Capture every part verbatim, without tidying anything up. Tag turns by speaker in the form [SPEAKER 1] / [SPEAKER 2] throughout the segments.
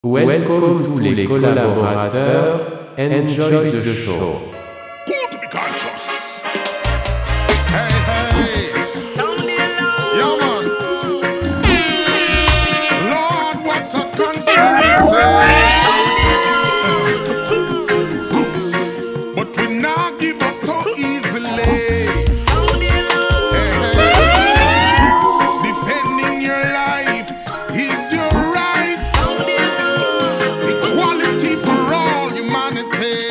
[SPEAKER 1] Welcome tous les collaborateurs, enjoy the show.
[SPEAKER 2] Cool to be conscious. Hey, hey. Yeah, man. Lord, what a conspiracy. But we not give up so easily. Hey, hey. Defending your life is your right. Equality for all humanity.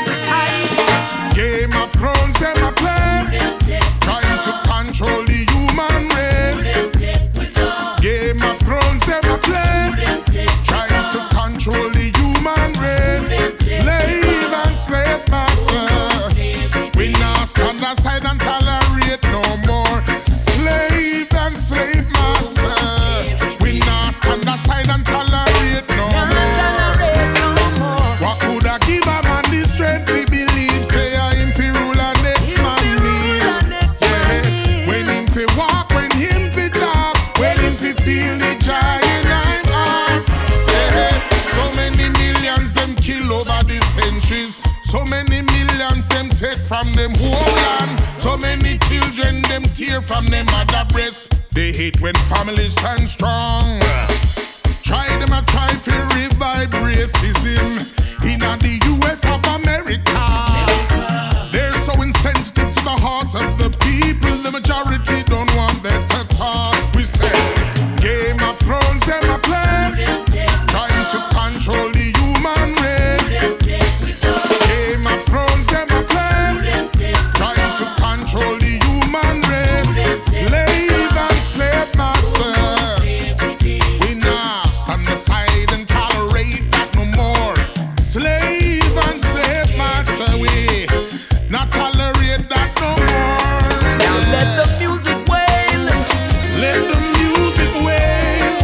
[SPEAKER 2] Game of Thrones, them a play, trying to control the human race. Game of Thrones, them a play, trying to control the human race. Slave and slave master, we not stand aside and tolerate no more. Slave and slave master, we not stand aside and tolerate no more. What could I give a man the strength to believe? Say I him fi rule and next man me. Yeah. When him fi walk, when him fi talk, when him fi feel the joy in I'm heart. Yeah. So many millions them kill over the centuries. So many millions them take from them homeland. So many children them tear from them mother breast. They hate when families stand strong. Try them a try to revive racism in the U S of America. They're so insensitive to the heart of the people. The majority don't want that to talk. We say Game of Thrones, them a play, trying to control the human race. Game of Thrones, them a play, trying to control the human race. Slave and slave master, we not stand aside and tolerate that no more. Slave and slave master, we not tolerate that no more.
[SPEAKER 3] Now let the music wail,
[SPEAKER 2] Let the music wail,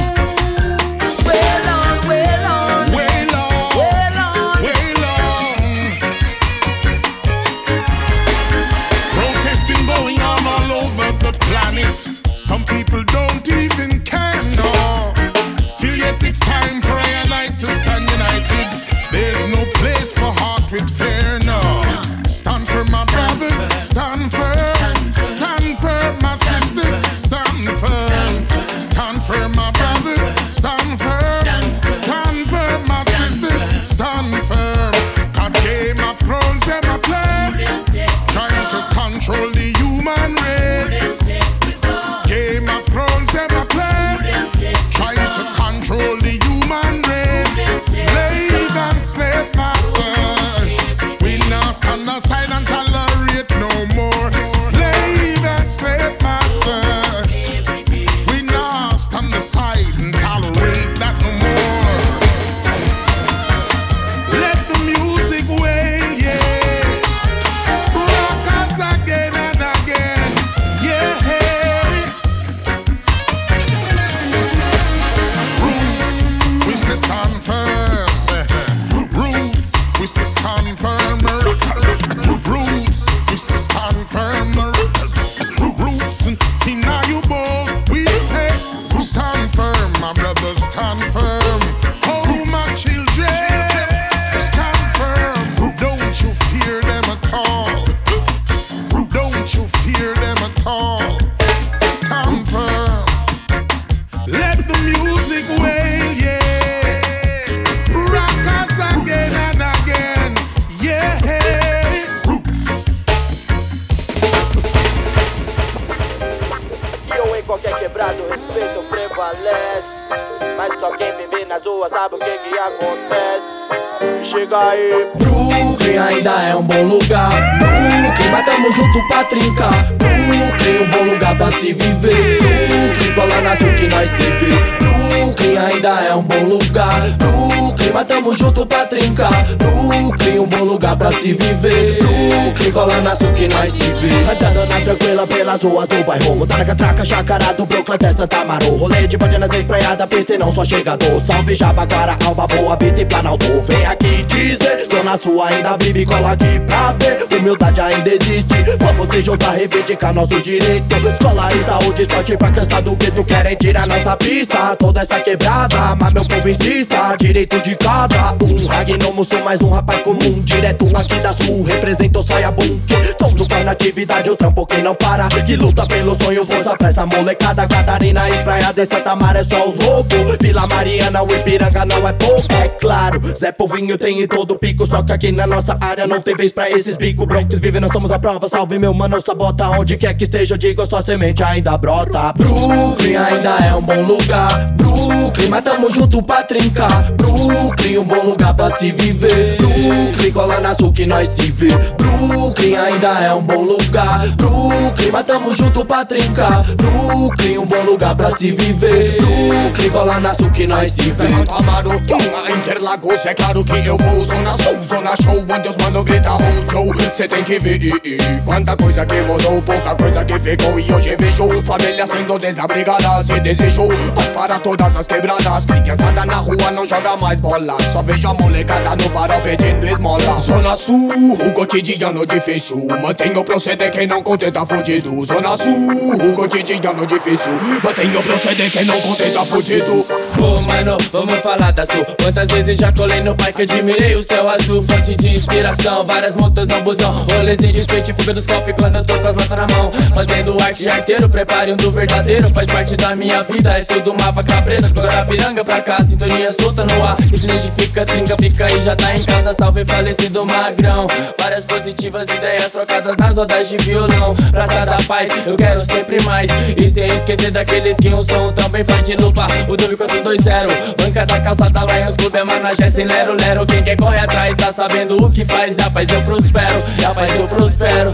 [SPEAKER 3] wail on, wail on,
[SPEAKER 2] wail on,
[SPEAKER 3] wail on.
[SPEAKER 2] wail on. Protesting going on all over the planet. Some people don't even care, no. Still yet it's time for I and I to stand united. There's no place for heart with fear, no. Stand for my brothers, stand firm. Stand for my sisters, stand firm. Stand for my brothers, stand firm. Stand for my sisters, stand firm. Cause Game of Thrones, them a play, trying to control the human race. Game of Thrones, them a play, trying to control the human race. Slave and slave masters, we not stand aside and tolerate no more. Slave and slave masters, we not stand aside and tolerate that no more. Let the music wail, yeah. Rock us again and again, yeah. Roots, we say stand firm. Roots, we say stand firm. Roots, we say stand firm. Roots, in you both, we say stand firm. My brothers, stand firm. Oh, my children, stand firm. Don't you fear them at all. Don't you fear them at all. Stand firm. Let the music wail, yeah. Rock us again and again, yeah.
[SPEAKER 4] Aqui ou em qualquer quebrado, o respeito prevalece. Mas só quem vive nas ruas sabe o que que acontece. Chega aí.
[SPEAKER 3] Brooklyn ainda é um bom lugar. Brooklyn, mas tamo junto pra trincar. Brooklyn, um bom lugar pra se viver. Brooklyn, cola na sul que nós se vê. Brooklyn ainda é um bom lugar. Brooklyn, Brooklyn, tamo junto pra trincar. Brooklyn, um bom lugar pra se viver. Brooklyn, cola na sul que nós se vê. Andando na tranquila pelas ruas do bairro, montar na catraca, Jacará do Brooklyn até Santa Amaro. Rolê de bandinas espraiada, P C não só chegador. Salve Jabaquara, Alba, Boa Vista e Planalto. Vem aqui dizer, Zona Sul ainda vive, cola aqui pra ver. Humildade ainda existe, vamos se juntar, reivindicar nosso direito. Escola e saúde, esporte pra cansar do gueto. Querem tirar nossa pista, toda essa quebrada, mas meu povo insista, direito de cada um. Ragnomo, sou mais um rapaz comum, direto aqui da sul, represento Soia Bunk. Tô no bar na atividade, o trampo que não para, que luta pelo sonho, força pra essa molecada. Catarina, Espraiada e Santa Mara é só os loucos. Vila Mariana, o Ipiranga não é pouco. É claro, Zé Povinho tem em todo pico, só que aqui na nossa área não tem vez pra esses bico. Bronx vive, nós somos a prova, salve meu mano, sabota. Onde quer que esteja, digo, sua semente ainda brota. Brooklyn ainda é um bom lugar. Brooklyn, mas tamo junto pra trincar. Brooklyn, um bom lugar pra se viver. Brooklyn, cola na sul que nós se vê. Brooklyn ainda é um bom lugar. Brooklyn, mas tamo junto pra trincar. Brooklyn, um bom lugar pra se viver. Brooklyn, cola na sul que nós se vê.
[SPEAKER 2] Santa Amaro, Tonga, Interlagos, é claro que eu vou. Zona Sul, Zona Show, onde os mano grita Hojo. Cê tem que ver quanta coisa que mudou, pouca coisa que ficou. E hoje vejo família sendo desabrigada. Se desejou paz para todas as quebradas. Criançada na rua não joga mais bola, só vejo a molecada no farol pedindo esmola. Zona Sul, o cotidiano difícil, mantenha o proceder, quem não contenta fudido. Zona Sul, o cotidiano difícil, mantenha o proceder, quem não contenta fudido.
[SPEAKER 5] Ô oh, mano, vamos falar da Sul. Quantas vezes já colei no parque, admirei o céu azul. Fonte de inspiração, várias motos no busão. Rolezinho de skate, fuga dos copos quando eu tô com as latas na mão. Fazendo arte de arteiro, prepare um do verdadeiro. Faz parte da minha vida, é sul do mapa cabreiro. Do Guarapiranga pra cá, sintonia solta no ar. Isso identifica, trinca, fica aí, já tá em casa. Salve falecido magrão. Várias positivas ideias trocadas nas rodas de violão. Praça da Paz, eu quero sempre mais. E sem esquecer daqueles que um som também faz de lupa. O W quatro dois zero, banca da calçada Lions Club é managé sem lero lero. Quem quer correr atrás tá sabendo o que faz. Rapaz eu prospero, rapaz eu prospero.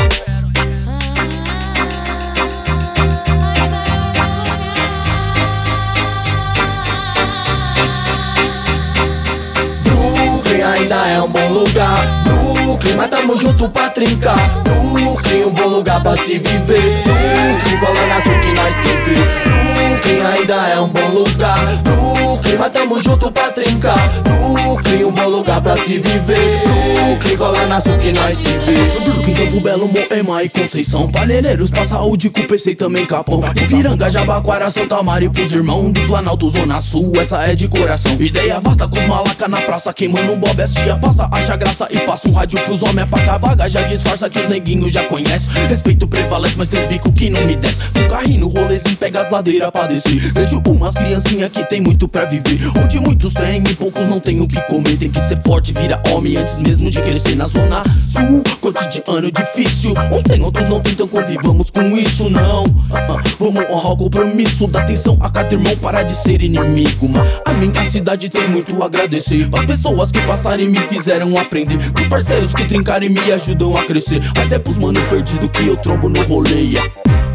[SPEAKER 3] Brooklyn ainda é um bom lugar. Brooklyn, mas tamo junto pra trincar. Brooklyn, um bom lugar pra se viver. Brooklyn, cola na sul que nós se vê. Brooklyn ainda é um bom lugar. Brooklyn, mas tamo junto pra trincar. Brooklyn, um bom lugar pra se viver. Brooklyn, cola na sul que nós se vê. Brooklyn, Campo Belo, Moema e Conceição. Palheireiros pra saúde, com P C e também Capão. Ipiranga, Jabaquara, Santa Mara e pros irmãos do Planalto, Zona Sul, essa é de coração. Ideia vasta com os malaca na praça, queimando um bob, as tia passa, acha graça e passa um rádio pros homens apagar baga. Já disfarça que os neguinhos já conhecem. Respeito prevalece, mas tem bico que não me desce. Um carrinho no rolezinho, pega as ladeiras pra descer. Vejo umas criancinhas que tem muito pra viver, onde muitos têm e poucos não tem o que comer. Tem que ser forte, vira homem antes mesmo de crescer. Na Zona Sul, cotidiano difícil, uns tem, outros não tem, então convivamos com isso não. uh-uh. Vamos honrar o compromisso, dá atenção a cada irmão, para de ser inimigo. Mas a minha cidade tem muito a agradecer as pessoas que passaram e me fizeram aprender, pros parceiros que trincaram e me ajudam a crescer, até pros mano perdido que eu trombo no rolê. yeah.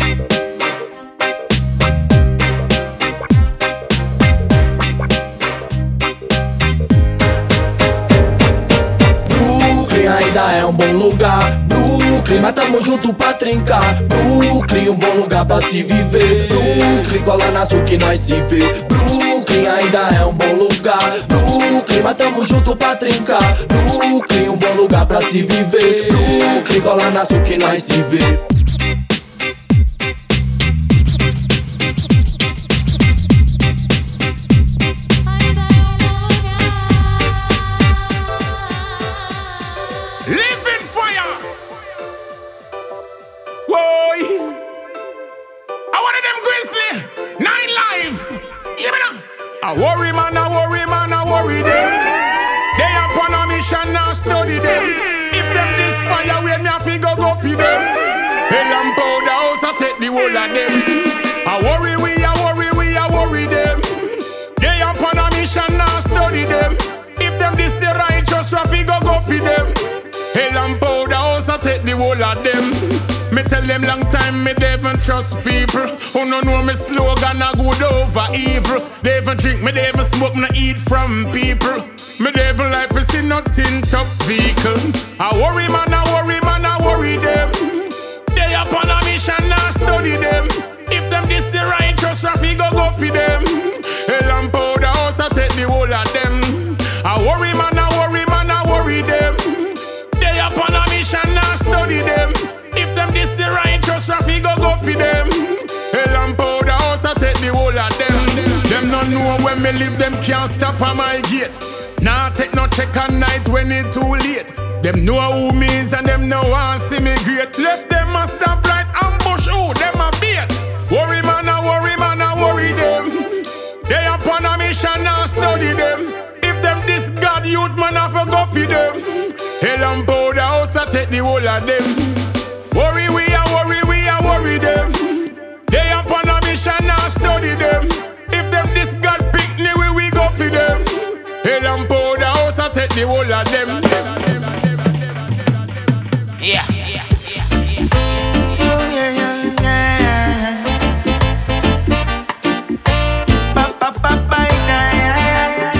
[SPEAKER 3] Ainda é um bom lugar. Brooklyn, mas tamo junto pra trincar. Brooklyn, um bom lugar pra se viver. Brooklyn, cola na sul que nós se vê. Brooklyn ainda é um bom lugar. Brooklyn, mas tamo junto pra trincar. Brooklyn, um bom lugar pra se viver. Brooklyn, cola na sul que nós se vê.
[SPEAKER 2] I worry man, I worry man, I worry them. They upon a mission, now study them. If them this fire, we me have to go go for them. Hell and powder house, I take the whole of them. I worry we, I worry we, I worry them. They upon a mission, now study them. If them this the righteous, we have to go go for them. Hell and powder house, I take the whole of them. Me Me tell them long time me they even trust people. Who no know me slogan a good over evil. They even drink, me they even smoke, me no eat from people. Me they even life is in nothing top vehicle. I worry man, I worry man, I worry them. They upon a mission, I study them. If them this the righteous, Rafi go go for them. Hell and powder house, I take the whole of them. I worry man, I worry man, I worry them. They upon a mission, I study them. If them this the righteous, Rafi go go for them. Hell and powder house, I take the whole of them. Them no know when me live, them can't stop at my gate. Nah take no check at night when it's too late. Them know who me is and them know I see me great. Left them a stop right ambush, oh them a bait. Worry man, I worry man, I worry them. They upon a mission, I study them. If them this God youth man, I forgo for them. Hell and powder house, I take the whole of them. Worry we a worry, we a worry them. They upon a mission, I study them. If them this God pick me, we we go for them. Hell and powder house, I take the whole of them.
[SPEAKER 6] Yeah, yeah, yeah, yeah.
[SPEAKER 7] Yeah, yeah, yeah. Pa pa pa pa yeah.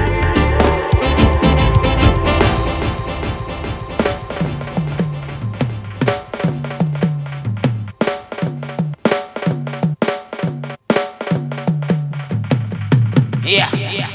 [SPEAKER 6] Yeah, yeah, yeah.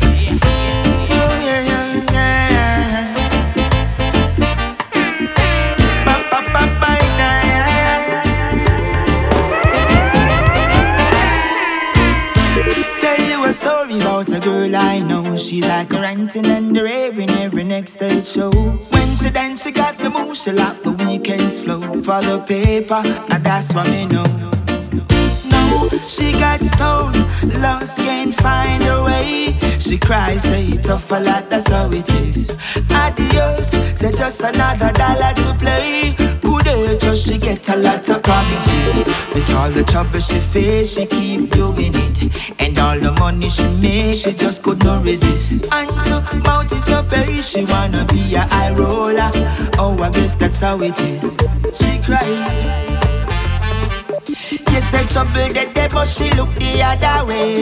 [SPEAKER 7] A story about a girl I know. She like a ranting and the raving every next stage show. When she dance, she got the moves, she like the weekends flow. For the paper, and that's what me know. No, she got stoned, lost, can't find her way. She cries, say tough a lot, that's how it is. Adios, say just another dollar to play. Good just she get a lot of promises. With all the trouble she face, she keep doing it. And all the money she make, she just could not resist. And to mouth is no pay, she wanna be a high roller. Oh, I guess that's how it is. She cried. You said trouble get there, but she look the other way.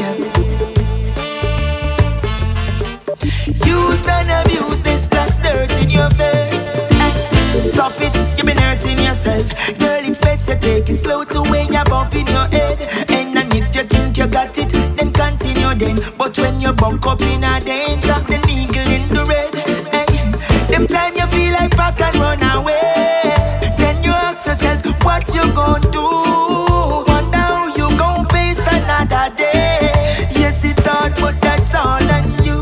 [SPEAKER 7] Use and abuse this plus dirt in your face. Stop it, you've been hurting yourself. Girl, it's best to take it slow to when you're bumping your head. And then if you think you got it, then continue then. But when you buck up in a danger, the eagle in the red. Hey, them time you feel like back and run away. Then you ask yourself, what you gonna do? Wonder how you gon' face another day. Yes, it hard, but that's all on you.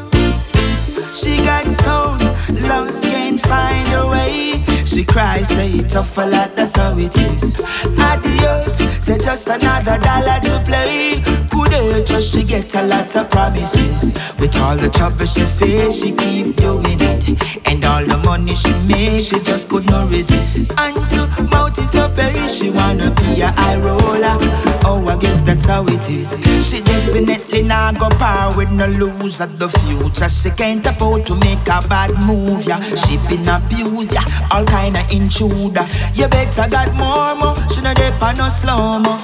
[SPEAKER 7] She got stoned, lost, can't find her way. She cries, say tough a lot, that's how it is. Adios, say just another dollar to play. Good just she get a lot of promises. With all the trouble she face, she keep doing it. And all the money she make, she just could not resist. And to mouth is no pay, she wanna be a high roller. Oh, I guess that's how it is. She definitely not go par with no lose at the future. She can't afford to make a bad move, yeah. She been abused, yeah. All kind of intruder. You better got more, more. She no dip on no slow-mo.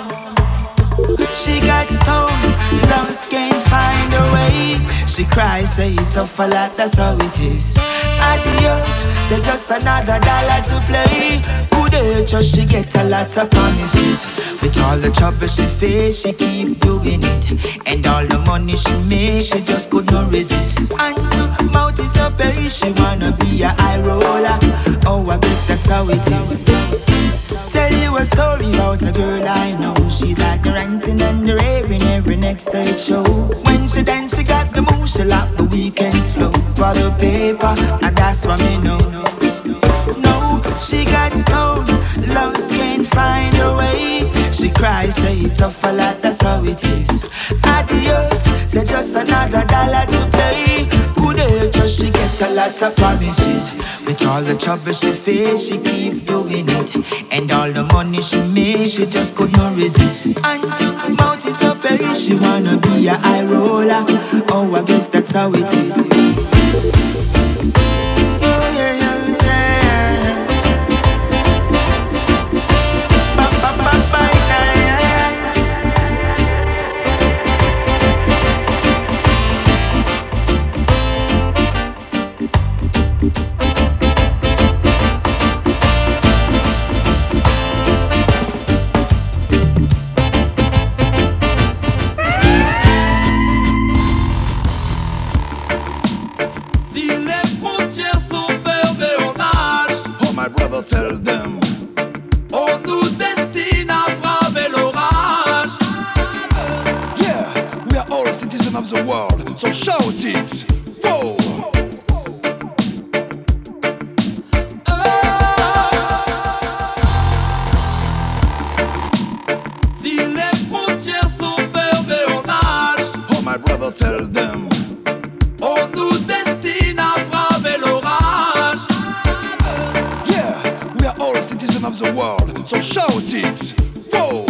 [SPEAKER 7] She got stoned, lost, can't find her way. She cries, say tough a lot, that's how it is. Adios, say just another dollar to play. Good just she get a lot of promises. With all the trouble she face, she keep doing it. And all the money she make, she just could not resist. And to mouth is no pay, she wanna be a high roller. Oh, I guess that's how it is. Tell you a story about a girl I know. She's like ranting and raving every next stage show. When she dance, she got the moves, she like the weekends flow. For the paper, and that's what me know. No, she got stoned, lost, can't find her way. She cries, say tough a lot, that's how it is. Adios, say just another dollar to play. Good just she get a lot of promises. With all the trouble she face, she keep doing it. And all the money she make, she just could not resist. And to mouth is no pay, she wanna be a high roller. Oh, I guess that's how it is. Yeah, yeah, yeah.
[SPEAKER 8] Si les frontières sont fermées, on nage.
[SPEAKER 2] Oh my brother, tell them.
[SPEAKER 8] On nous destine à braver l'orage.
[SPEAKER 2] Yeah, we are all citizens of the world, so shout it. Whoa.
[SPEAKER 8] Si les frontières sont fermées, on nage.
[SPEAKER 2] Oh my brother, tell them.
[SPEAKER 8] On nous destine à braver l'orage.
[SPEAKER 2] Yeah, we are all citizens of the world, so shout it. Whoa.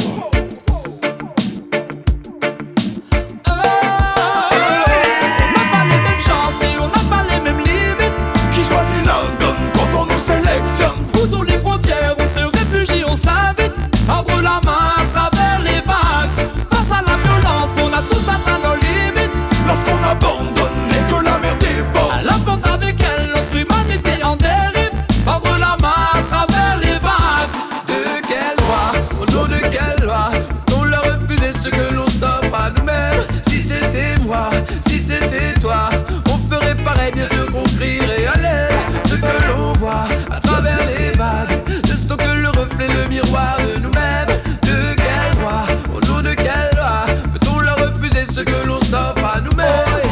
[SPEAKER 8] Où sont les frontières, on se réfugie, on s'invite. Tendre la main à travers les vagues. Face à la violence, on a tous atteint nos limites.
[SPEAKER 2] Lorsqu'on abandonne et que la mer déborde,
[SPEAKER 8] à la porte avec elle, notre humanité en dérive. Tendre la main à travers les vagues.
[SPEAKER 3] De quelle loi, au nom de quelle loi, on leur refusait ce que l'on s'offre à nous-mêmes? Si c'était moi, si c'était toi, on ferait pareil, bien sûr qu'on crierait à l'aide. Ce que l'on voit à travers les vagues ne sont que le reflet, le miroir de nous-mêmes. De quelle loi, au nom de quelle loi, peut-on leur refuser ce que l'on s'offre à nous-mêmes?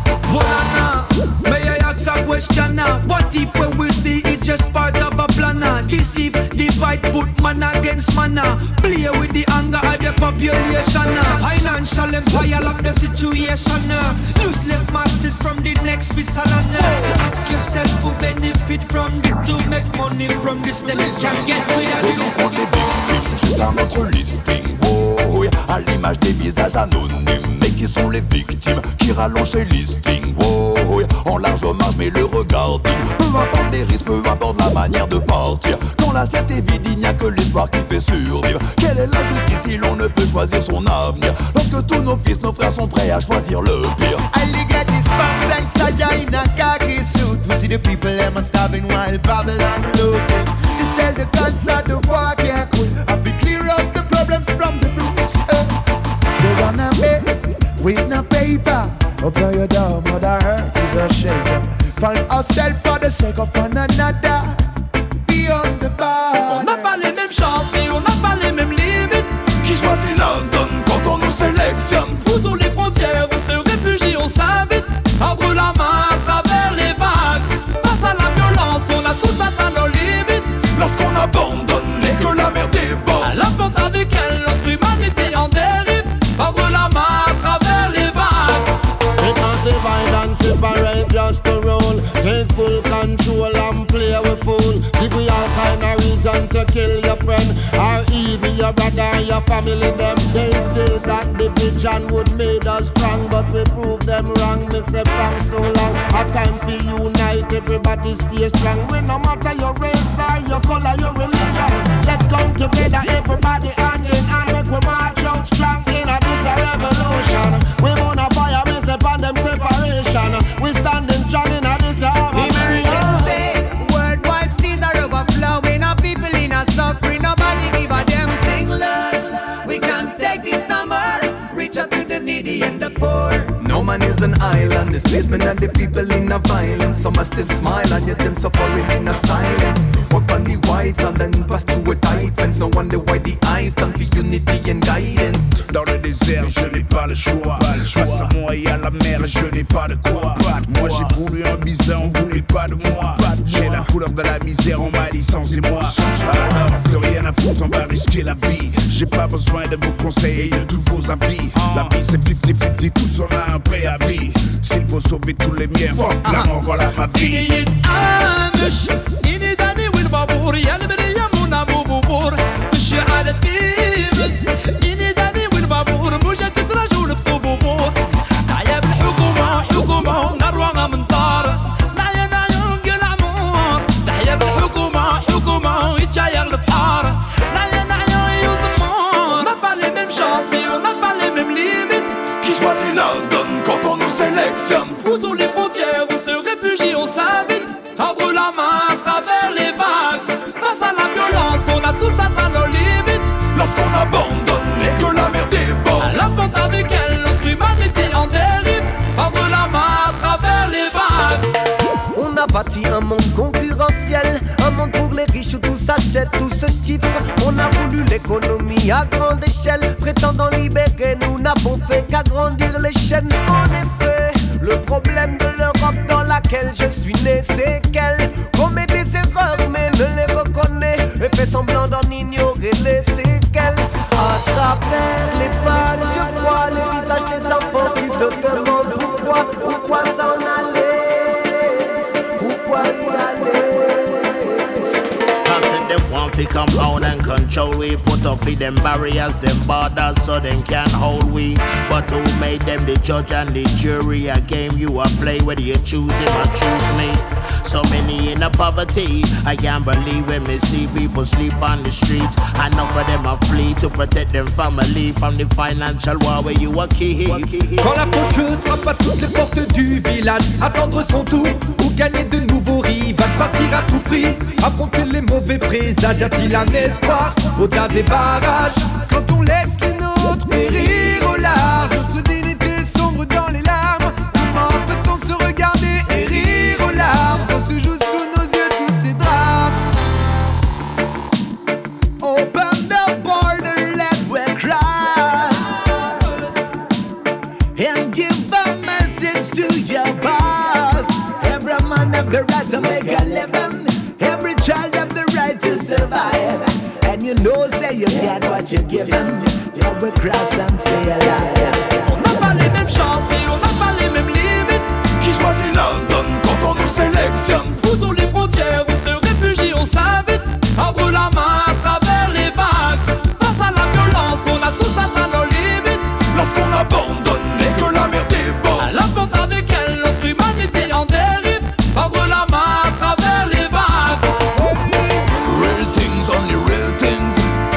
[SPEAKER 9] Bonana, may I ask a question now? What if what we see is just part of a plan? Deceive, divide, put man against man. Play with the anger of the population. Financial empire of the situation. Useless masses from the next Bissalon. Ask yourself who benefit from this, to make money from this, then you can get rid of
[SPEAKER 2] et
[SPEAKER 9] this.
[SPEAKER 2] donc on les victimes, juste un autre listing. Oh, oui, à l'image des visages anonymes. Mais qui sont les victimes qui rallongent les listings? Oh, oui, en large hommage, mais le regard digne. Peu importe les risques, peu importe la manière de partir. Quand l'assiette est vide, il n'y a que l'espoir qui fait survivre. Quelle est la justice si l'on ne peut choisir son avenir? Lorsque tous nos fils, nos frères sont prêts à choisir le pire.
[SPEAKER 10] I get this pants and saja in a khaki suit. We see the people them a starving while Babylon looting. They sell the cancer, the war can't cool. I fi clear up the problems from the root. Uh, they wanna make with no paper. Open your door, mother earth is a shelter. Find ourselves for the sake of one another. Beyond the bar.
[SPEAKER 8] On n'a pas les mêmes chances et on n'a pas les mêmes limites.
[SPEAKER 2] Qui choisit London quand on nous sélectionne?
[SPEAKER 8] Où sont les frontières, on se réfugie, on s'invite. Tendre la main à travers les vagues. Face à la violence, on a tous atteint nos limites.
[SPEAKER 2] Lorsqu'on abandonne et que la mer déborde,
[SPEAKER 8] à la porte avec elle, notre humanité en dérive. Tendre la main à travers les vagues.
[SPEAKER 11] Because divide and separate just to rule. Take full control and play with fool. Give you all kind of reason to kill your friend, or even your brother and your family them. They say that division would make us strong, but we prove them wrong. Me say from so long, a time to unite, everybody stay strong. We no matter your race or your color, your religion. Let's come together, everybody hand in hand, make we march out strong in a this a revolution. We wanna fire, me say pan them separation. We standing strong in a this a
[SPEAKER 12] emergency. Worldwide seas are overflowing. Our people in a suffering. Nobody give a damn thing, Lord. We can't take this no more. Reach out to the needy and the poor.
[SPEAKER 3] No man is an island, displacement and the people in a violence. Some are still smile and yet them suffering in a silence. Walk on the whites and then pass through a tight fence. No wonder why the eyes stand for unity and guidance.
[SPEAKER 13] Dans le désert, je n'ai pas le choix. Face à moi et à la mer, je n'ai pas de quoi. Moi j'ai voulu un bison, on voulait pas de moi. J'ai la couleur de la misère, on m'a dit sans et moi. Alors plus rien à foutre, on va risquer la vie. J'ai pas besoin de vos conseils et de tous vos avis. La vie c'est fifty fifty, tous on a un préavis. S'il faut sauver tous les miens, fuck la mort, voilà ma vie.
[SPEAKER 8] بابور يا البرية منا بوبور تشي على التيمس إني داني والبابور موجة تترجول بطبوبور معايا بالحكومة حكومة نروى من طار معايا معيون قلع مور تحيا بالحكومة حكومة يتشاير البحار معايا معيون يوزمور On n'a pas les mêmes chances et on n'a pas les mêmes limites.
[SPEAKER 2] Qui choisit London quand on nous sélectionne?
[SPEAKER 8] Où sont les frontières, on se réfugie, on s'invite. Tendre la main à travers les vagues. Face à la violence, on a tous atteint nos limites.
[SPEAKER 2] Lorsqu'on abandonne et que la mer déborde,
[SPEAKER 8] à la porte avec elle, notre humanité en dérive. Tendre la main à travers les vagues.
[SPEAKER 14] l'économie à grande échelle. Prétendant libérer, nous n'avons fait qu'agrandir les chaînes. En effet, le problème de l'Europe dans laquelle je suis né, c'est qu'elle commet des erreurs mais ne les reconnaît et fait semblant d'en ignorer les séquelles. À travers les pages, je vois les visages des enfants qui se demandent pourquoi, pourquoi s'en aller, pourquoi y aller.
[SPEAKER 13] Them want to come out and control we. Put up with them barriers, them borders, so them can't hold we. But who made them the judge and the jury? A game you a play, whether you choose him or choose me. So many in the poverty, I can't believe when me see people sleep on the streets. Enough of them are flee to protect them family from the financial war where you a key.
[SPEAKER 15] Quand la faucheuse frappe à toutes les portes du village, attendre son tour ou gagner de nouveaux rivages, partir à tout prix, affronter les mauvais présages. Y a-t-il un espoir au-delà des barrages?
[SPEAKER 9] Quand on laisse les nôtres périr au large, notre dignité sombre dans les larmes. Comment peut-on se regarder et rire aux larmes quand se jouent sous nos yeux tous ces drames?
[SPEAKER 14] Open the border, let we cross and give a message to your boss. Every man have the right to make a living. Every child have the right to survive. And you know say you get what you give them. Now we cross and stay alive.
[SPEAKER 8] On n'a pas les mêmes chances et on n'a pas les mêmes limites.
[SPEAKER 10] Qui choisit London quand on nous sélectionne?
[SPEAKER 8] Poussons les frontières, on se réfugie, on s'invite. Tendre la main à travers les vagues. Face à la violence, on a tous atteint nos limites.
[SPEAKER 10] Lorsqu'on abandonne et que la mer déborde,
[SPEAKER 8] à la porte avec elle, notre humanité en dérive. Tendre la main à travers les vagues.
[SPEAKER 10] real things, only real things.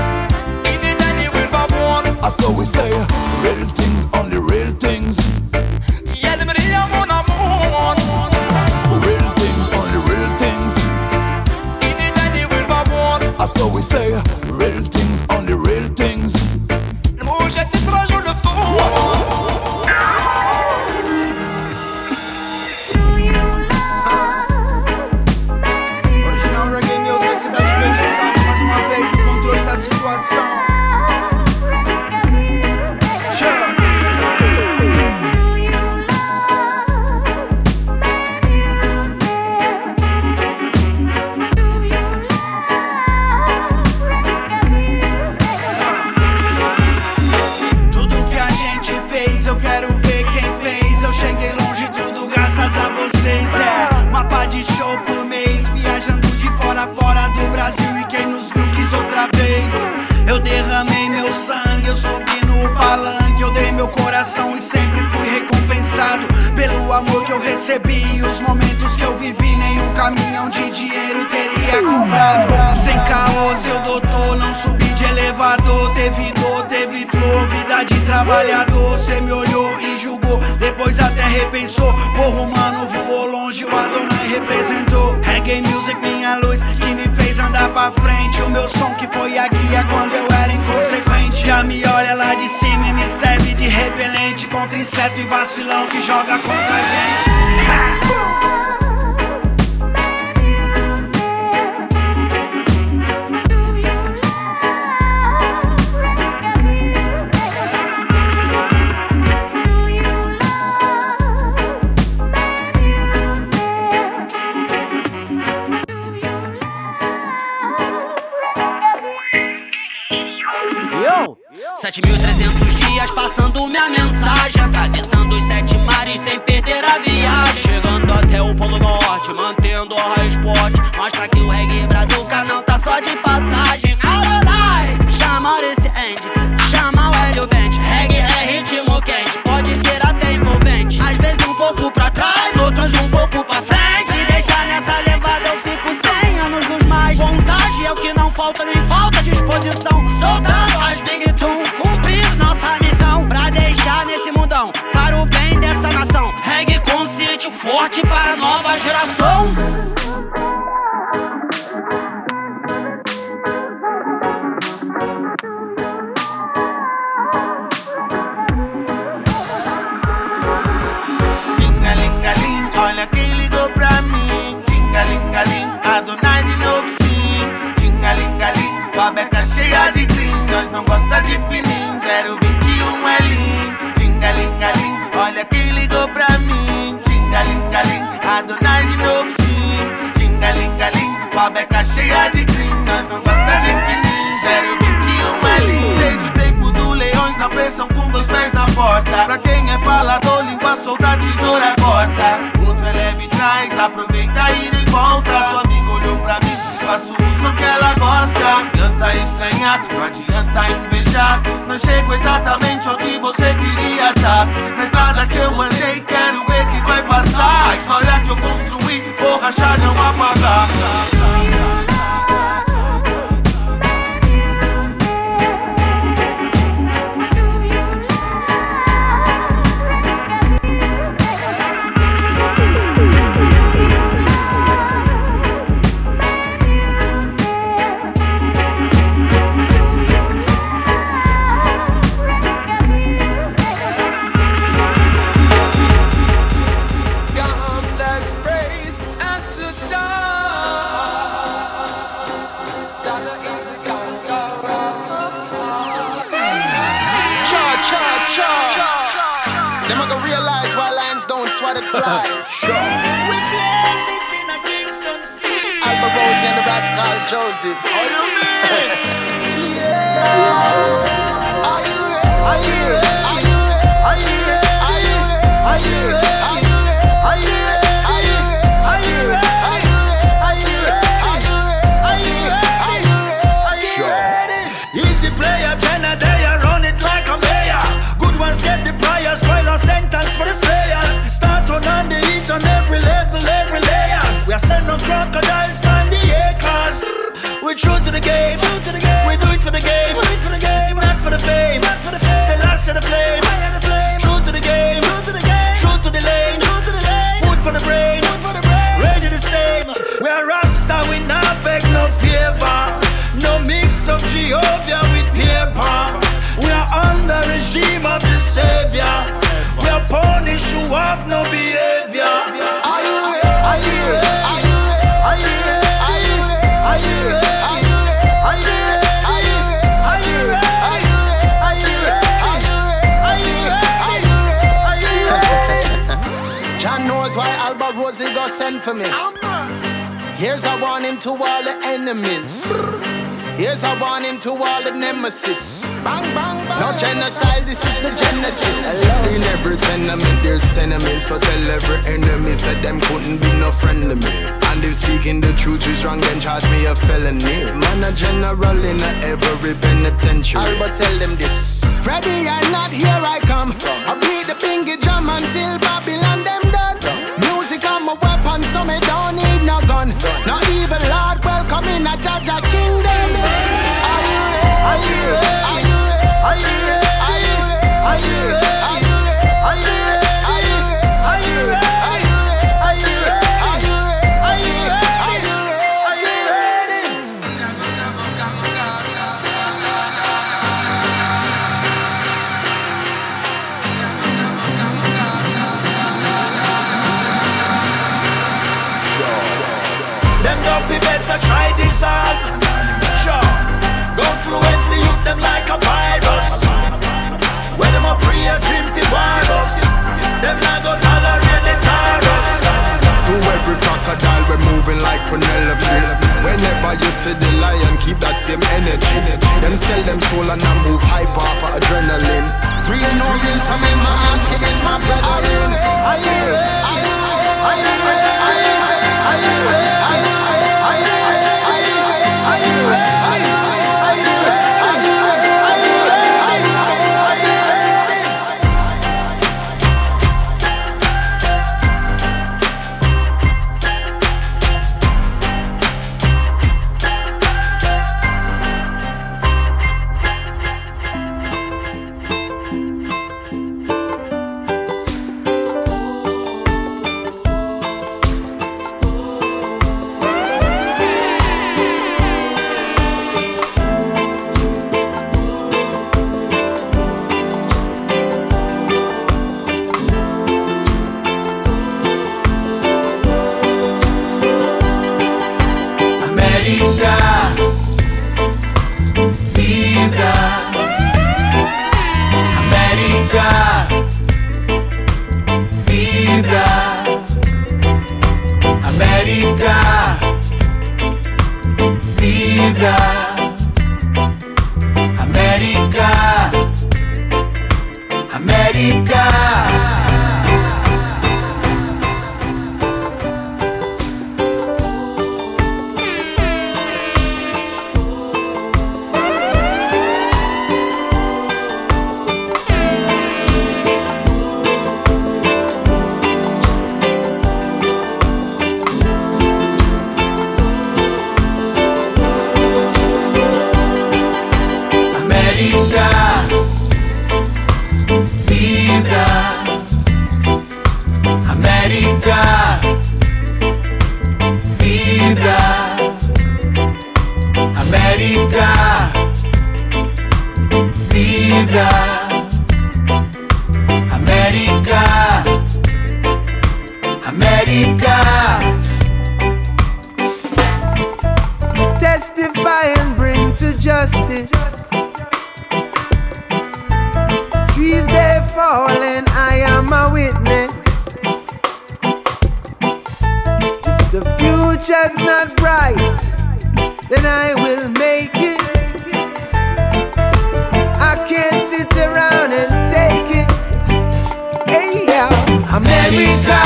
[SPEAKER 10] So we say, real things, only real things. Real things, only real things. So we say, real things, only real things.
[SPEAKER 9] Original reggae music, cidade verde samba. Mais uma vez no controle da situação.
[SPEAKER 16] A vocês é mapa de show por mês, viajando de fora a fora do Brasil e quem nos viu quis outra vez. Eu derramei meu sangue, eu subi no palanque, eu dei meu coração e sempre fui recompensado pelo amor que eu recebi e os momentos que eu vivi. Nenhum caminhão de dinheiro teria comprado. Sem caô, seu doutor, não subi de elevador. Teve dor, teve flor, vida de trabalhador. Cê me olhou e julgou, depois até repensou. Porra, o mano voou longe, o Adonai representou. Reggae music, minha luz, que me fez andar pra frente. O meu som que foi a guia quando eu era inconsequente. Já me olha lá de cima e me serve de repelente contra inseto e vacilão que joga contra a gente.
[SPEAKER 17] Sete mil e trezentos dias passando minha mensagem, atravessando os sete mares sem perder a viagem, chegando até o Polo Norte, mantendo a high spot. Mostra que o reggae brazuca não tá só de passagem. Alright, chama Maurice End, chama o Hélio Bent. Reggae é ritmo quente, pode ser até envolvente. Às vezes um pouco pra trás, outros um pouco pra frente. Deixar nessa levada eu fico cem anos nos mais. Vontade é o que não falta, nem falta disposição. Soltando as big tune, cumprindo nossa missão, pra deixar nesse mundão, para o bem dessa nação. Reggae consciente, forte para a nova geração.
[SPEAKER 16] Tingalingaling, olha quem ligou pra mim. Tingalingaling, Adonai de novo sim. Tingalingaling, com a beca cheia de crise. Adonai de novo sim, jingalingaling, com a beca cheia de green. Nós não gosta de fininho, zero vinte e um ali. Desde o tempo do leões na pressão com dois pés na porta. Pra quem é falador, língua solta, tesoura corta. Outro é leve e traz, aproveita e nem volta. Sua amiga olhou pra mim, faço uso que ela gosta. Não adianta estranhar, não adianta invejar. Não chego exatamente onde você queria estar. Na estrada que eu andei, quero ver que vai passar. A história que eu construí, borracha não apagar.
[SPEAKER 18] Swatted flies.
[SPEAKER 16] We blaze it in a Kingston city.
[SPEAKER 18] Alba Rosie and the Rascal Joseph.
[SPEAKER 16] How you mean?
[SPEAKER 18] Yeah. Are you ready? Are you ready? Are you ready? Are you ready? Are you ready? Are you ready? Are you ready? Are you ready? Are you ready? Are you ready? Are you ready? Are you ready?
[SPEAKER 16] Easy player, Jenna, they run it like a mayor. Good ones get the priors, spoil a sentence for the slayers. On the each on every level, every layers. We are sending crocodiles on the acres. We're true to the game, we do it for the game, not for the fame. Say last to the flame, true to the game, true to the lane, food for the brain, ready the same. We are Rasta, we not beg no favor. No mix of Jehovah with paper. We are under regime of the Savior. We are punished who have no behavior.
[SPEAKER 18] Are you ready? Are you ready? Are you ready? Are you ready? Are you ready? Are you ready? Are you ready? Are you ready? Are you ready? Are you ready? Are you ready? Are you ready? Are you ready? John knows why Alba Rosie go send for me. Here's a warning to all the enemies. Here's a warning to all the nemesis. Bang, bang, bang. No genocide, this is the genesis.
[SPEAKER 11] In every tenement there's tenements. So tell every enemy said them couldn't be no friend to me. And if speaking the truth is wrong, then charge me a felony. Man a general in a every penitentiary.
[SPEAKER 18] I'll tell them this. Ready or not, here I come. I beat the bingy drum until Babylon them done. Music on my weapon, so me don't need no gun. No evil Lord, welcome in a Jaja kingdom. Are you ready? Are you ready? Are you ready? Are you ready? Are you ready? Are you ready? Are you ready? Are you ready? Are you ready? Are you ready? Are you ready? Are you ready? Are you ready? Are you ready? Are you ready?
[SPEAKER 16] Them don't be better try dissolve. Sure. Go influence the youth them like a virus. When them a pray a dream fi virus. Them not go tolerate the virus.
[SPEAKER 11] To every crocodile we're moving like Penelope. Whenever you see the lion, keep that same energy. Them sell them soul and I move hype off of adrenaline.
[SPEAKER 18] Free and no real, so me ma ask you this, my brother. Are you ready? Are you ready? Are you ready? Are you ready? Are you ready? Are you ready? Are you ready? Are you ready? Are you ready? Are you ready? Are you ready? Are you ready? Are you ready? Are you ready? Are you ready?
[SPEAKER 16] América, vibra. América, América.
[SPEAKER 10] Testify and bring to justice. Trees they fall and I am a witness. If the future's not bright, then I will make it. I can't sit around and take it. Hey, yeah. America,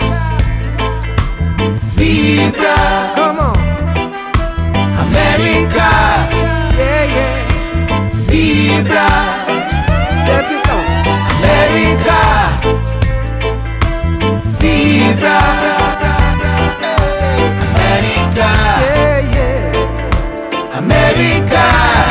[SPEAKER 10] vibra. Come on. America, yeah, yeah. Vibra. Step it on. America, vibra. America, yeah, yeah. America.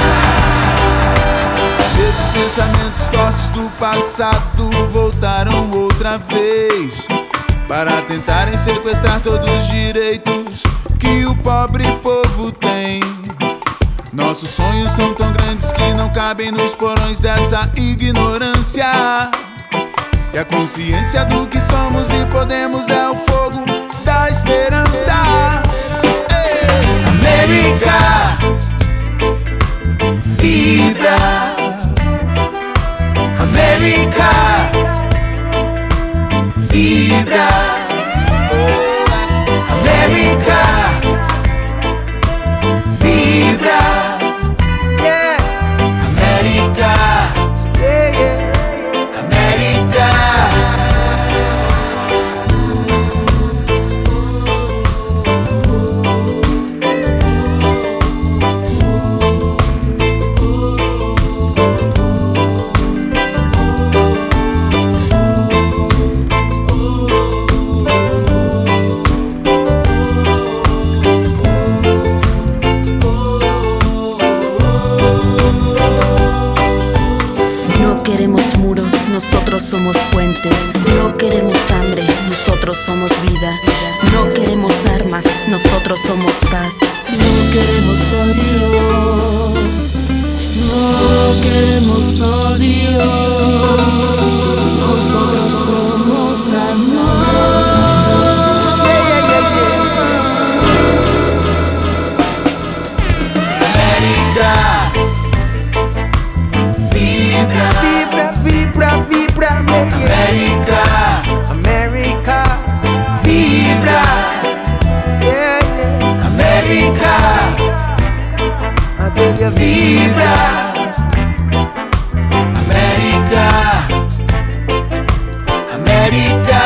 [SPEAKER 13] Esses pensamentos tortos do passado voltaram outra vez para tentarem sequestrar todos os direitos que o pobre povo tem. Nossos sonhos são tão grandes que não cabem nos porões dessa ignorância. E a consciência do que somos e podemos é o fogo da esperança. Ei!
[SPEAKER 10] América, vibra. América, vibra. América, vibra. Yeah. América, yeah, yeah. América.
[SPEAKER 19] Nosotros somos puentes, no queremos hambre, nosotros somos vida. No queremos armas, nosotros somos paz. No queremos odio, no queremos odio. Nosotros somos amor.
[SPEAKER 10] América, vibra. Vibra, vibra, América, América, vibra, yeah, yes, América, I tell you, vibra, América, América.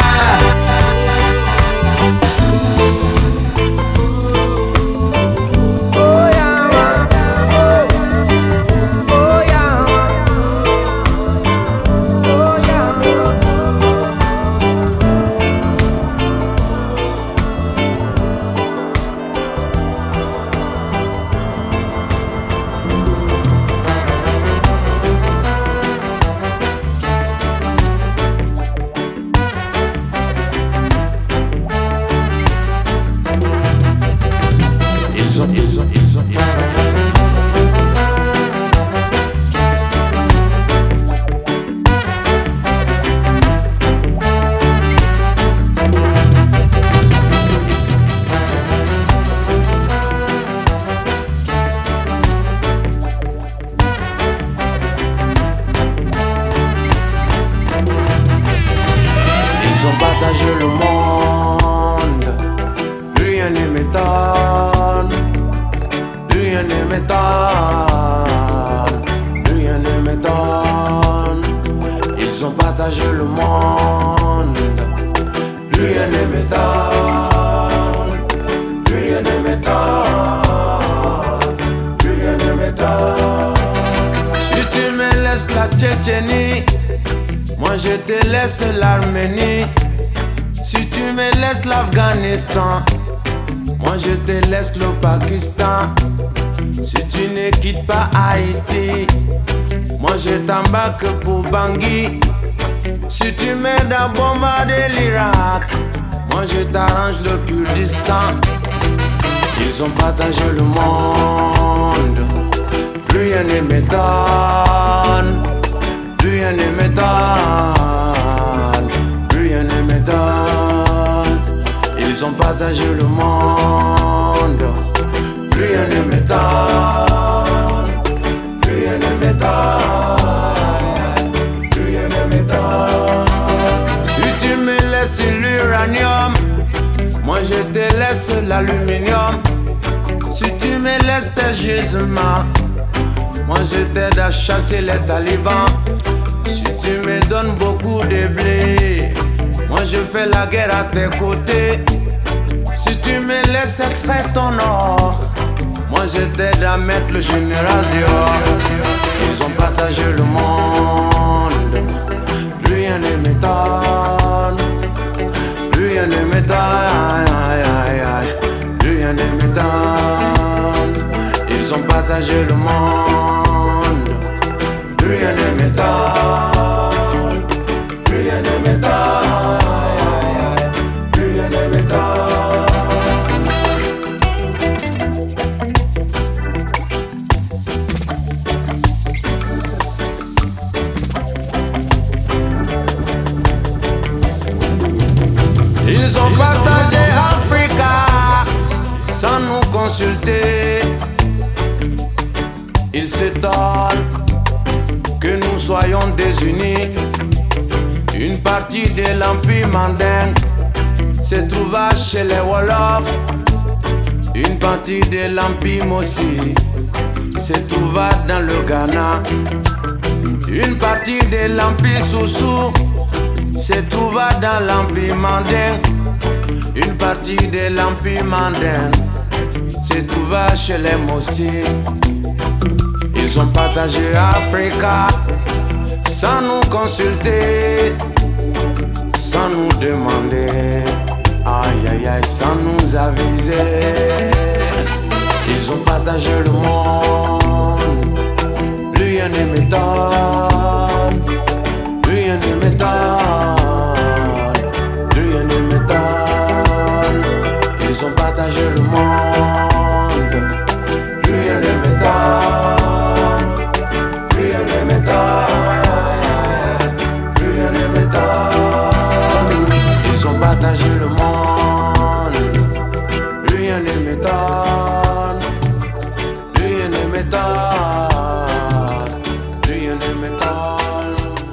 [SPEAKER 3] m'étonne, plus rien ne m'étonne, plus rien ne m'étonne. Si tu me laisses la Tchétchénie, moi je te laisse l'Arménie. Si tu me laisses l'Afghanistan, moi je te laisse le Pakistan. Si tu ne quittes pas Haïti, moi je t'embarque pour Bangui. Si tu m'aides à bombarder l'Irak, moi je t'arrange le Kurdistan. Ils ont partagé le monde, plus rien ne m'étonne, plus rien ne m'étonne, plus rien ne m'étonne. Ils ont partagé le monde, plus rien ne m'étonne, plus rien ne m'étonne, plus rien ne m'étonne. Si tu me laisses l'uranium, moi je te laisse l'aluminium. Si tu me laisses tes gisements, moi je t'aide à chasser les talibans. Si tu me donnes beaucoup de blé, moi je fais la guerre à tes côtés. Si tu me laisses extraire ton or, moi je t'aide à mettre le général dehors. Ils ont partagé le monde, plus rien ne m'étonne, plus rien ne m'étonne, plus rien ne m'étonne. Ils ont partagé le monde, plus rien ne m'étonne, plus rien ne m'étonne, plus rien ne m'étonne. Ils ont partagé Africa sans nous consulter. Ils s'étonnent que nous soyons désunis. Une partie de l'Empire mandingue se trouva chez les Wolofs. Une partie de l'Empire Mossi se trouva dans le Ghana. Une partie de l'Empire Soussou se trouva dans l'Empire mandingue. Une partie de l'Empire mandingue se trouva chez les Mossi. Ils ont partagé Africa sans nous consulter, sans nous demander, aïe aïe aïe, sans nous aviser. Ils ont partagé le monde, plus rien ne m'étonne, plus rien ne m'étonne, plus rien ne m'étonne. Ils ont partagé le monde, plus rien ne m'étonne. Ils ont partagé le monde, rien ne m'étonne, rien ne m'étonne, rien ne m'étonne.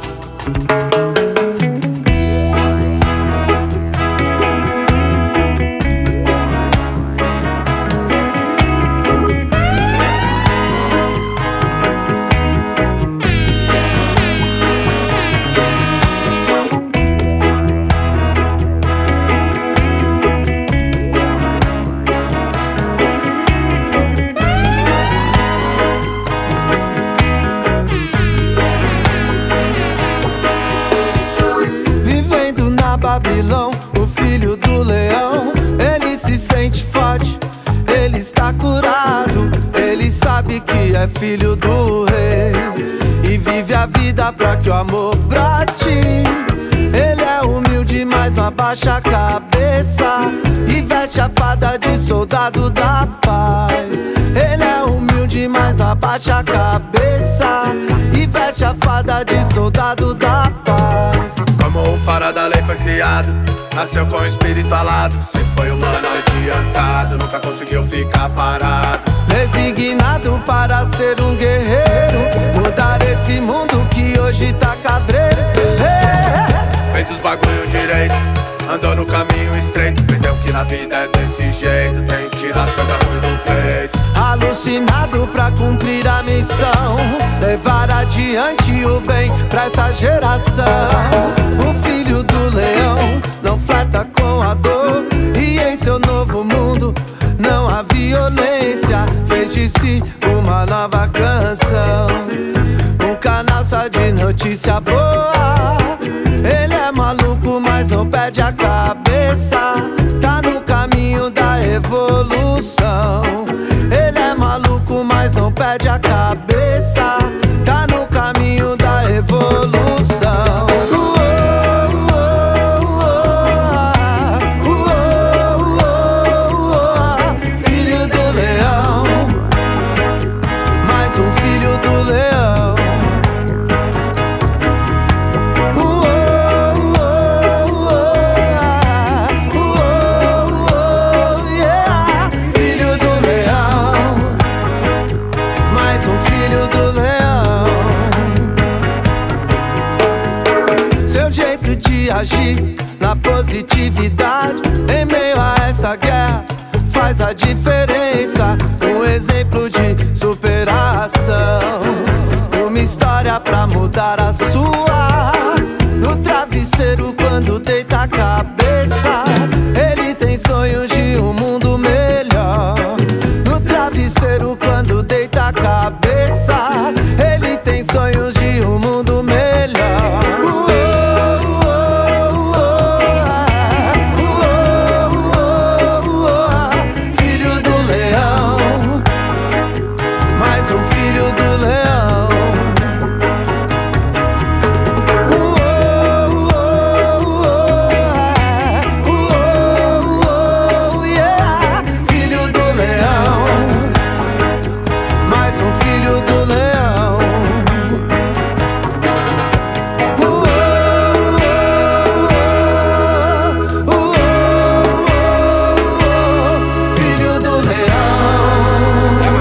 [SPEAKER 20] Babilão, o filho do leão, ele se sente forte, ele está curado, ele sabe que é filho do rei e vive a vida pra que o amor brate. Ele é humilde, mas não abaixa a cabeça e veste a fada de soldado da paz. Ele é humilde, mas não abaixa a cabeça e veste a fada de soldado da paz.
[SPEAKER 21] Como o faro da lei foi criado, nasceu com o espírito alado, sempre foi humano adiantado, nunca conseguiu ficar parado.
[SPEAKER 20] Resignado para ser um guerreiro, mudar esse mundo que hoje tá cabreiro.
[SPEAKER 21] Fez os bagulho direito, andou no caminho estreito, perdeu o que que na vida é desse jeito. Tem que tirar as coisas ruins do peito.
[SPEAKER 20] Alucinado pra cumprir a missão, levar adiante o bem pra essa geração. O filho do leão não flerta com a dor, e em seu novo mundo não há violência. Fez de si uma nova canção, um canal só de notícia boa. Ele é maluco, mas não perde a cabeça. Tá no caminho da evolução. Ele é maluco, mas não perde a cabeça. Tá no caminho da evolução. Filho do leão, mais um filho do leão. Filho do leão, mais um filho do leão. Seu jeito de agir na positividade em meio a essa guerra faz a diferença. Um exemplo de superação, uma história pra mudar a sua. No travesseiro quando deita a cabeça, ele tem sonhos de um mundo melhor. No travesseiro quando deita a cabeça, ele tem sonhos de um mundo melhor. Filho do leão, mais um filho do leão. Filho do leão, mais um filho do leão. Filho do leão.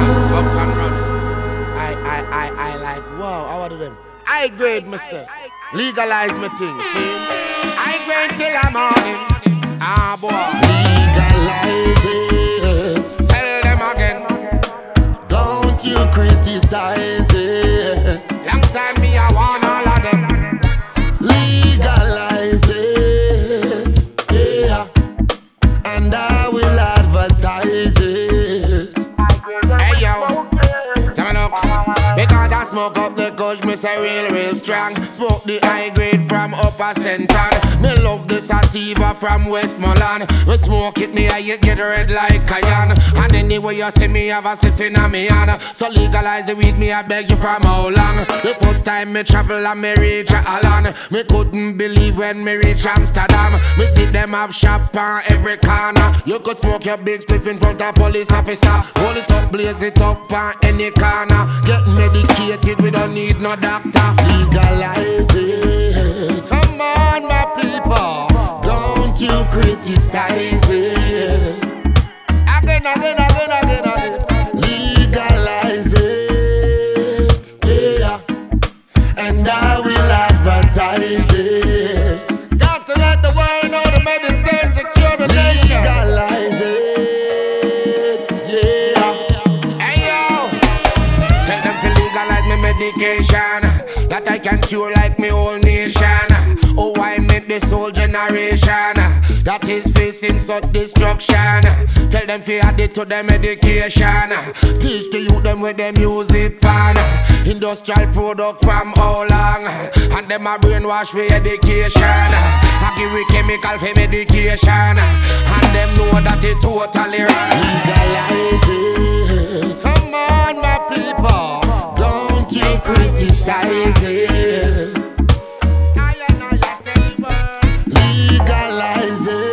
[SPEAKER 11] I, I, I, I like, wow, how are them? I grade myself. Legalize my thing, see? I grade till I'm morning. Ah, boy. Legalize it. Tell them again. Don't you criticize it. Long time me, I want all of them. Legalize it. Yeah. And I will advertise it. Hey, yo. Say me look. Because I smoke up the kush, me say real, real strong. Smoke the high grade from Upper Central. Me love the sativa from Westmoreland. Me smoke it, me I get red like cayenne. And anyway you see me have a stiff in a me hand. So legalize the weed, me I beg you from how long. The first time me travel and me reach Holland, me couldn't believe when me reach Amsterdam. Me see them have shop on every corner. You could smoke your big spliff in front of police officer. Hold it up, blaze it up on any corner. Get medicated, we don't need no doctor. Legalize it. Come on, my people. Don't you criticize it. Again, again, again, again, again. Legalize it. Yeah. And I will advertise it. Got to let the world know the medicine to cure the nation. Legalize it. Yeah. Hey, yo. Tell them to legalize my medication, that I can cure like me whole nation. Oh, I made this whole generation that is facing such destruction. Tell them to add it to their medication. Teach the youth them where them use it pan. Industrial product from how long? And them a brainwash with education. I give we chemical for medication. And them know that it totally wrong. Legalize it. Come on, my people. Don't you criticize it. Legalize it.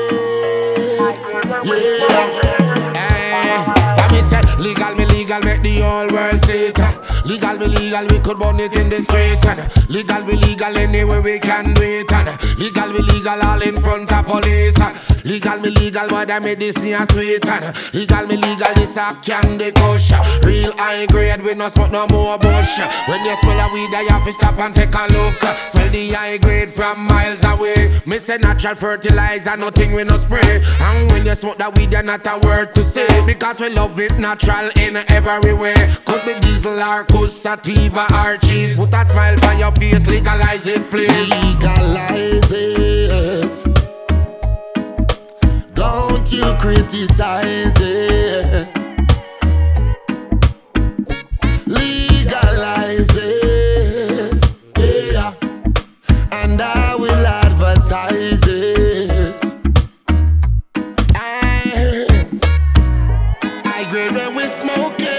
[SPEAKER 11] Yeah. Hey, me say legal, me legal, make the whole world see it. Legal, me legal, we could burn it in the street. And legal, we legal, anywhere we can do it. And legal, we legal, all in front of police. Legal me legal, but I medicine a sweet. And legal me legal, this a candy kush. Real high grade, we no smoke no more bush. When you smell a weed, you have to stop and take a look. Smell the high grade from miles away. Me say natural fertilizer, nothing we no spray. And when you smoke that weed, you're not a word to say. Because we love it natural in every way. Could be diesel or kush, sativa or cheese. Put a smile on your face, legalize it please.
[SPEAKER 10] Legalize it. Don't you criticize it. Legalize it, yeah. And I will advertise it. I, I grade when we smoke it.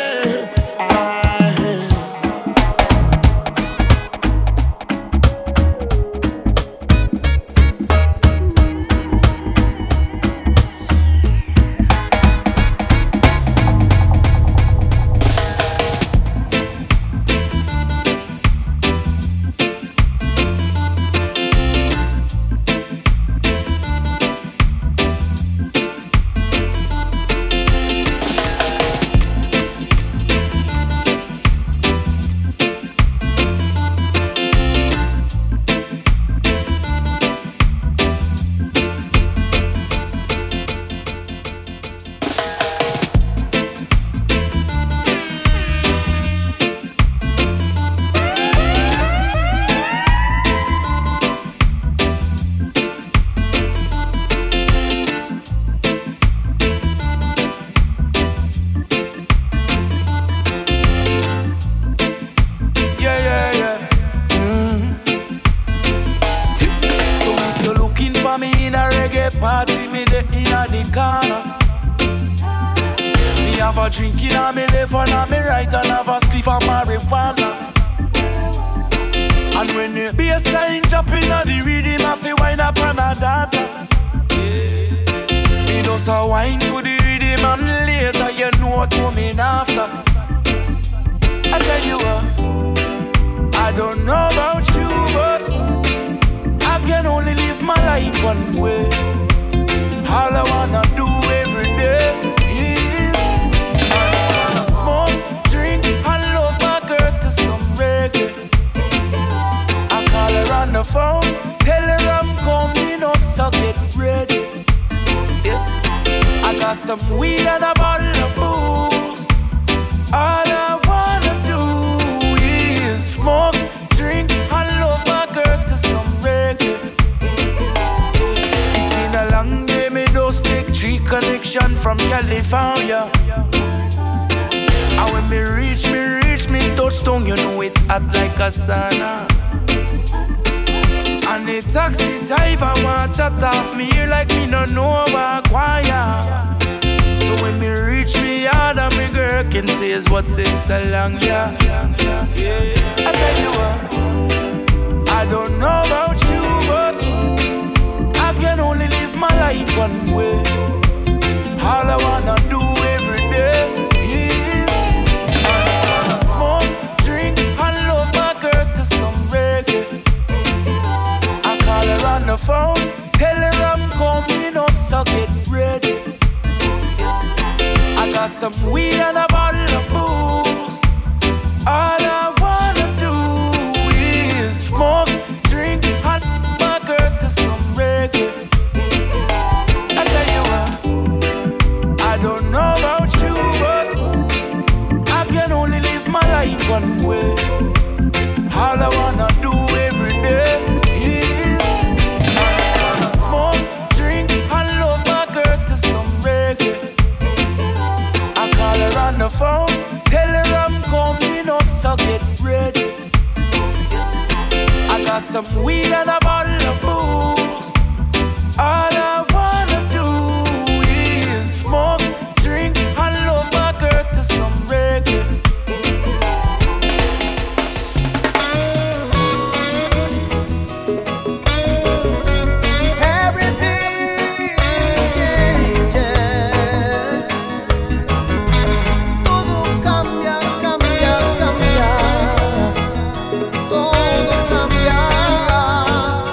[SPEAKER 10] Todo cambia,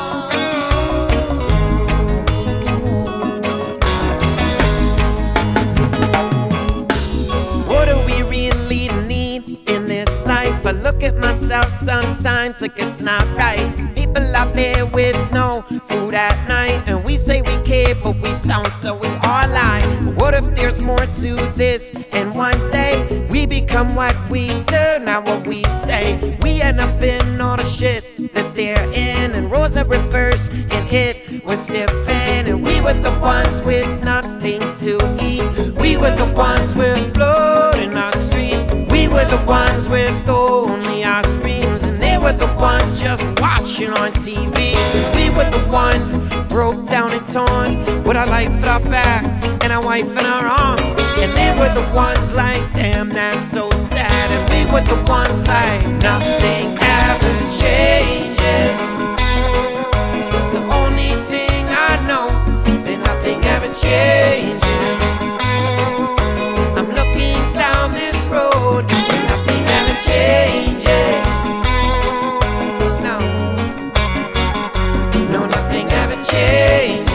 [SPEAKER 1] sometimes like it's not right. People out there with no food at night, and we say we care, but we don't, so we all lie. What if there's more to this? And one day we become what we do, not what we say. We end up in all the shit that they're in, and Rosa reversed, and it was different. And we were the ones with nothing to eat. We were the ones with blood in our street. We were the ones with only our screams, and they were the ones just watching on T V. We were the ones broke down and torn, with our life at our back and our wife in our arms. And they were the ones like, damn, that's so sad. And we were the ones like, nothing ever changes. It's the only thing I know, that nothing ever changes. I'm looking down this road, and nothing ever changes. No, no, nothing ever changes.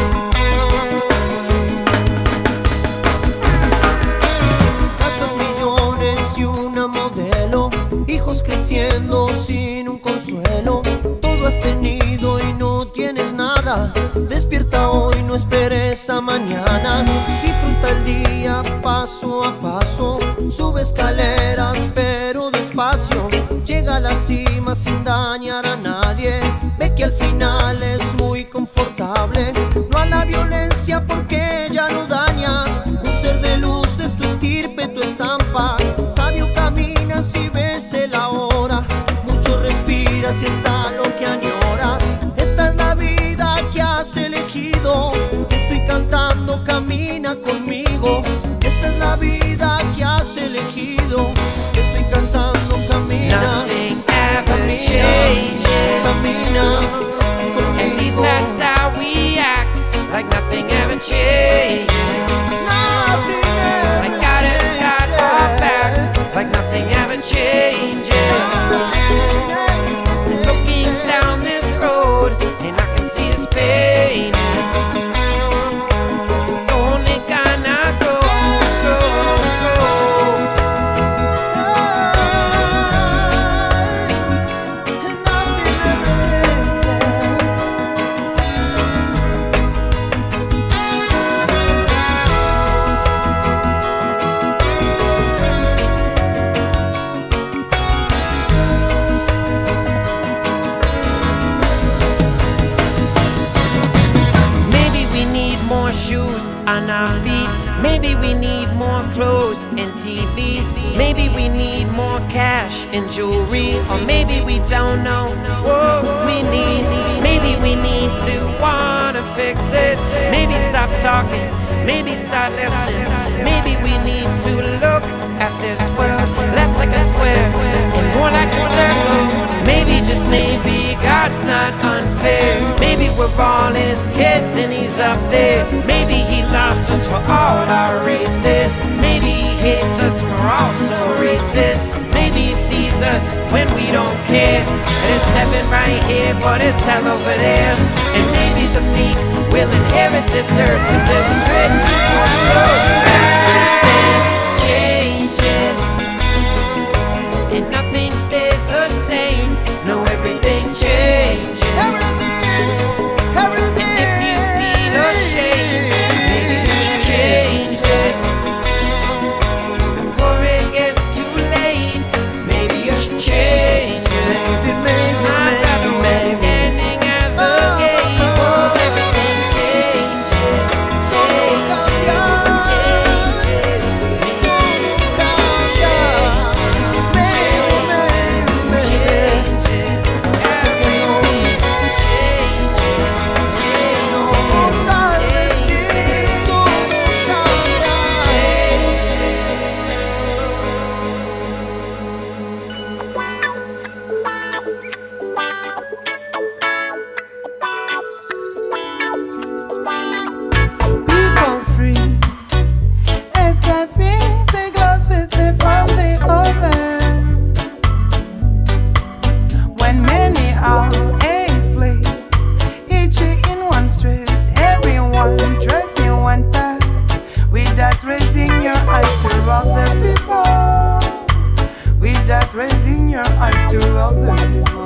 [SPEAKER 22] Casas, millones y una modelo, hijos creciendo sin un consuelo. Todo has tenido y no tienes nada. Despierta hoy, no esperes a mañana. Disfruta el día paso a paso. Sube escaleras pero despacio. Llega a la cima sin dañar a nadie. Ve que al final es muy confortable. No a la violencia porque ya no dañas. Un ser de luz es tu estirpe, tu estampa. Sabio caminas y ves el ahora. Mucho respiras y está lo que añoras. Esta es la vida que has elegido. Te estoy cantando, camina conmigo. Esta es la vida que has elegido. Te estoy cantando, camina.
[SPEAKER 1] Nothing ever changes.
[SPEAKER 22] Camina
[SPEAKER 1] conmigo. At least that's how we act, like nothing ever changes.
[SPEAKER 22] Nothing ever
[SPEAKER 1] like God has got our backs, like nothing ever changes. Looking down this road, and I can see his pain. It's only gonna go, go, go.
[SPEAKER 22] And nothing ever changes.
[SPEAKER 1] Maybe we need more shoes on our feet. Maybe we need more clothes and T Vs. Maybe we need more cash and jewelry. Or maybe we don't know what we need. Maybe we need to wanna fix it. Maybe stop talking. Maybe start listening. Maybe we need to look at this world less like a square and more like a circle. Maybe, just maybe, God's not unfair. Maybe we're all his kids and he's up there. Maybe he loves us for all our races. Maybe he hates us for all so racist. Maybe he sees us when we don't care. And it's heaven right here, but it's hell over there. And maybe the meek will inherit this earth, cause it was written for so. Everything changes, and nothing stays the same. No, everything changes.
[SPEAKER 22] Everything, everything.
[SPEAKER 1] And if you feel ashamed, maybe you should change this before it gets too late. Maybe you should change this.
[SPEAKER 22] Maybe, maybe,
[SPEAKER 1] I'd rather we're standing at the gate. Oh, everything changes, changes, changes.
[SPEAKER 23] People free, escaping the closest from the other. When many are ace place, each in one stress, everyone dressing one path, without raising your eyes to all the people, without raising your eyes to other people.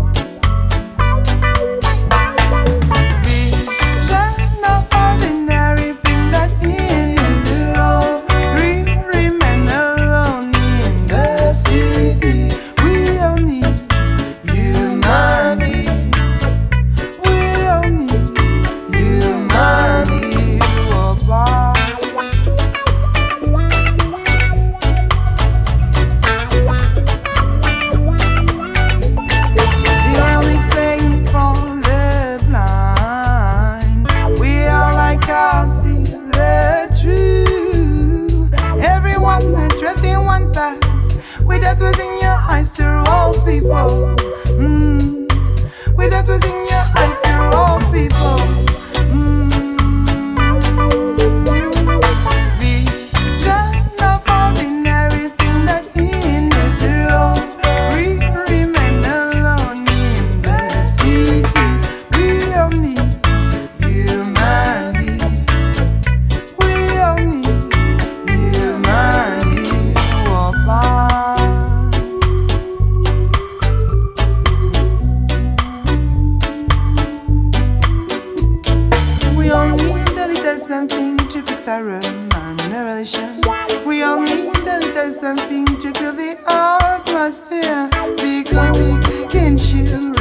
[SPEAKER 23] Vision of ordinary thing that is zero. We remain alone in the city. We don't need humanity. We don't need humanity. Oh, bye. With that was in your eyes to all people. Mm. With that was in your eyes to all people. Mm. Vision of ordinary thing that in the zero. We remain alone in the city. We all need humanity. We all need humanity. Oh, bye. We all need a little something to fix our remuneration. We all need a little something to kill the atmosphere, because we can chill